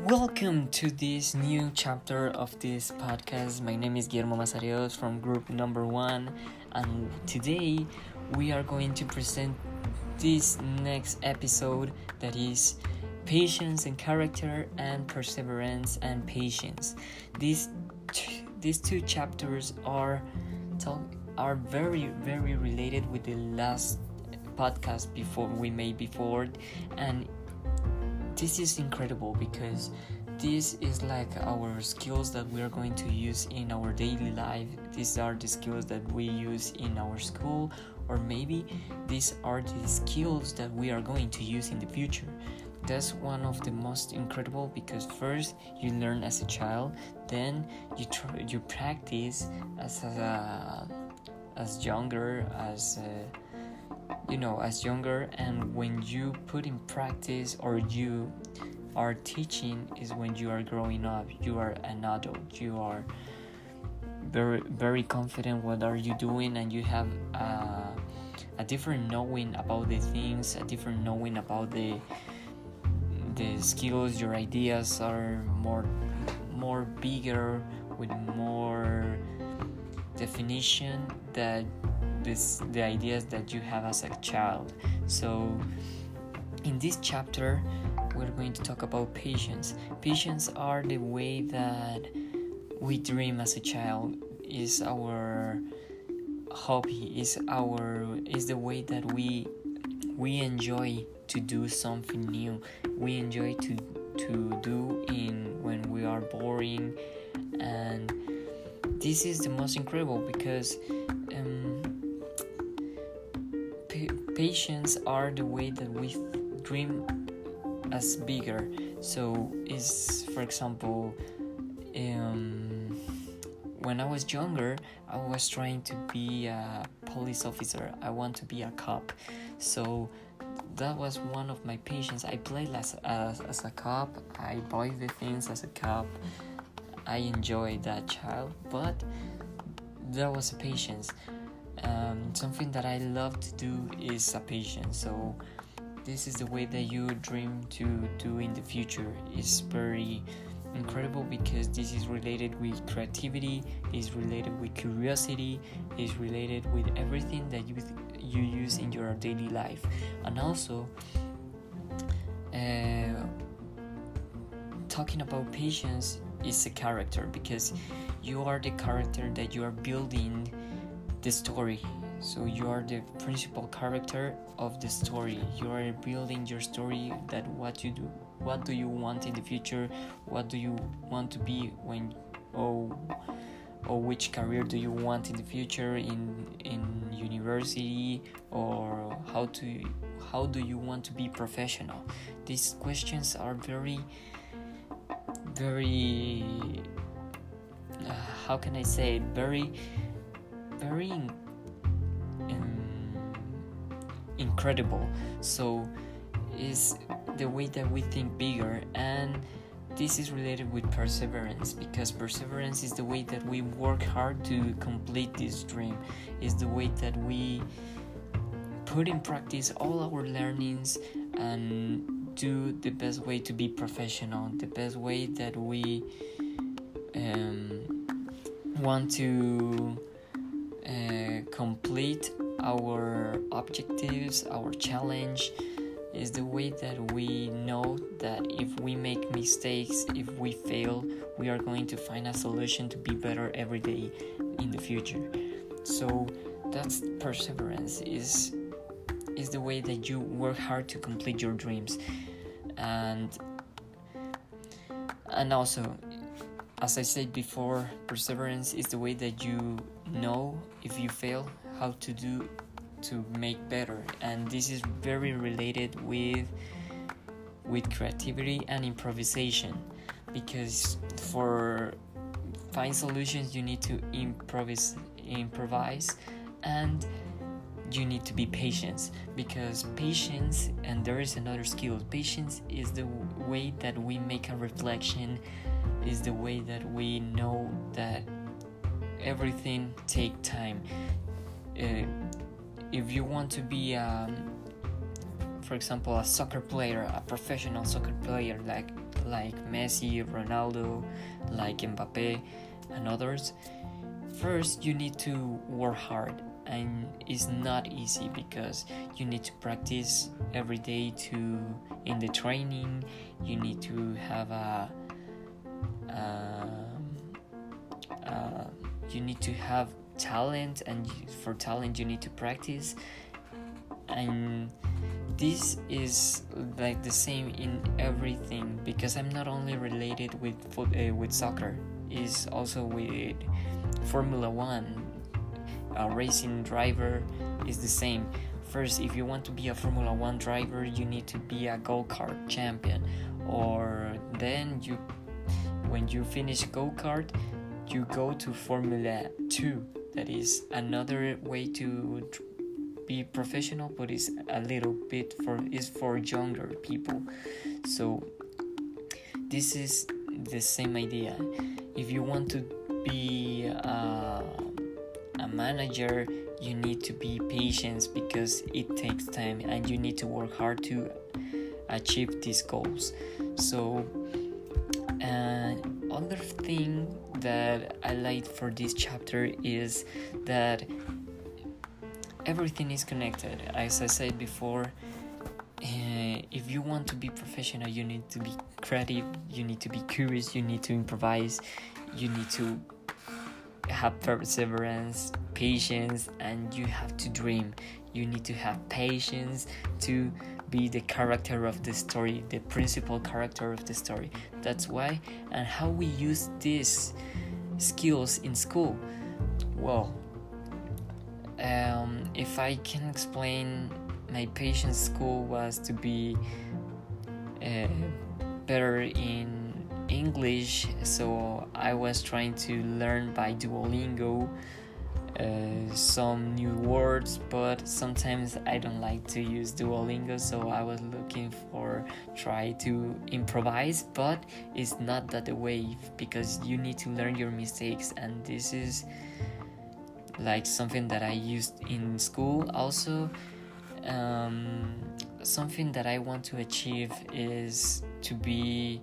Welcome to this new chapter of this podcast. My name is Guillermo Mazarios from group number 1, and today we are going to present this next episode that is patience and character and perseverance and patience. These two chapters are very related with the last podcast we made before, and this is incredible because this is like our skills that we are going to use in our daily life. These are the skills that we use in our school, or maybe these are the skills that we are going to use in the future. That's one of the most incredible, because first you learn as a child, then you practice as younger, and when you put in practice or you are teaching is when you are growing up. You are an adult, you are very confident what are you doing, and you have a different knowing about the things, a different knowing about the skills. Your ideas are more bigger, with more definition that the ideas that you have as a child. So in this chapter we're going to talk about patience. Patience are the way that we dream as a child, is our hobby, is the way that we enjoy to do something new. We enjoy to do in when we are boring, and this is the most incredible because patience are the way that we dream as bigger. So is, for example, when I was younger, I was trying to be a police officer. I want to be a cop. So that was one of my patience. I played as a cop. I buy the things as a cop. I enjoyed that child, but there was a patience. Something that I love to do is a patience. So this is the way that you dream to do in the future. Is very incredible because this is related with creativity, is related with curiosity, is related with everything that you use in your daily life. And also talking about patience is a character, because you are the character that you are building the story. So you are the principal character of the story. You are building your story, that what do you want in the future, what do you want to be when, or which career do you want in the future in university, or how do you want to be professional. These questions are very how can I say it, very incredible. So is the way that we think bigger, and this is related with perseverance, because perseverance is the way that we work hard to complete this dream, is the way that we put in practice all our learnings and do the best way to be professional, the best way that we want to complete our objectives, our challenge. Is the way that we know that if we make mistakes, if we fail, we are going to find a solution to be better every day in the future. So that's perseverance, is the way that you work hard to complete your dreams. And also, as I said before, perseverance is the way that you know if you fail how to do to make better. And this is very related with creativity and improvisation, because for find solutions you need to improvise, and you need to be patient, because patience, and there is another skill, patience is the way that we make a reflection, is the way that we know that everything take time. If you want to be for example, a soccer player, a professional soccer player like Messi, Ronaldo, like Mbappe, and others, first you need to work hard, and it's not easy because you need to practice every day in the training. You need to have you need to have talent, and for talent you need to practice. And this is like the same in everything, because I'm not only related with soccer, is also with Formula 1. A racing driver is the same. First, if you want to be a Formula 1 driver, you need to be a go-kart champion, or then when you finish go-kart, you go to Formula 2. That is another way to be professional, but it's a little bit for younger people. So this is the same idea. If you want to be a manager, you need to be patient, because it takes time and you need to work hard to achieve these goals. So another thing that I like for this chapter is that everything is connected. As I said before, if you want to be professional, you need to be creative, you need to be curious, you need to improvise, you need to have perseverance, patience, and you have to dream. You need to have patience to be the character of the story, the principal character of the story. That's why. And how we use these skills in school. Well, if I can explain, my patience school was to be better in English, so I was trying to learn by Duolingo some new words, but sometimes I don't like to use Duolingo, so I was looking for try to improvise, but it's not that the way, because you need to learn your mistakes, and this is like something that I used in school. Also, something that I want to achieve is to be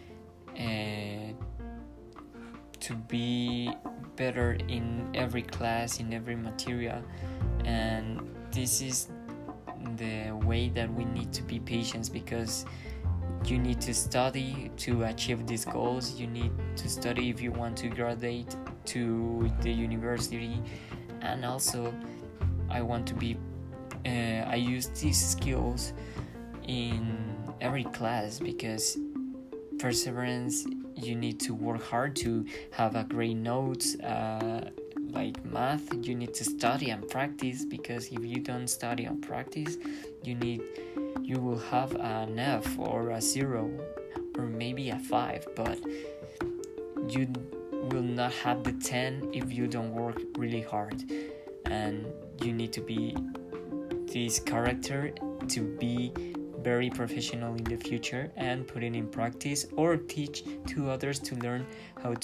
better in every class, in every material, and this is the way that we need to be patient, because you need to study to achieve these goals. You need to study if you want to graduate to the university. And also I want to be I use these skills in every class, because perseverance, you need to work hard to have a great notes. Like math, you need to study and practice, because if you don't study and practice, you will have an F or a 0 or maybe a 5, but you will not have the 10 if you don't work really hard. And you need to be this character to be very professional in the future and put it in practice, or teach to others to learn how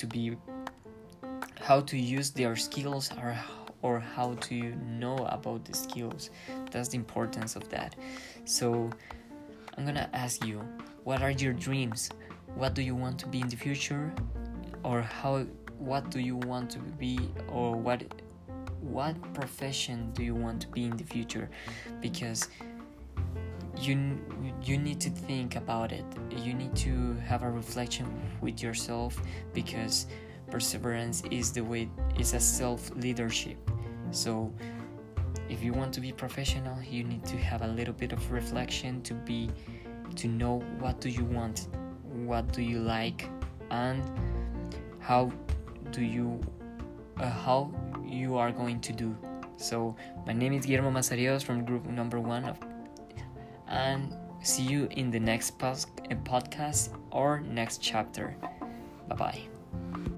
to use their skills, or how to know about the skills. That's the importance of that. So I'm gonna ask you, what are your dreams? What do you want to be in the future? Or what do you want to be, or what profession do you want to be in the future? Because you need to think about it. You need to have a reflection with yourself, because perseverance is a self-leadership. So if you want to be professional, you need to have a little bit of reflection to know what do you want, what do you like, and how you are going to do. So my name is Guillermo Mazarios from group number 1 and see you in the next podcast or next chapter. Bye bye.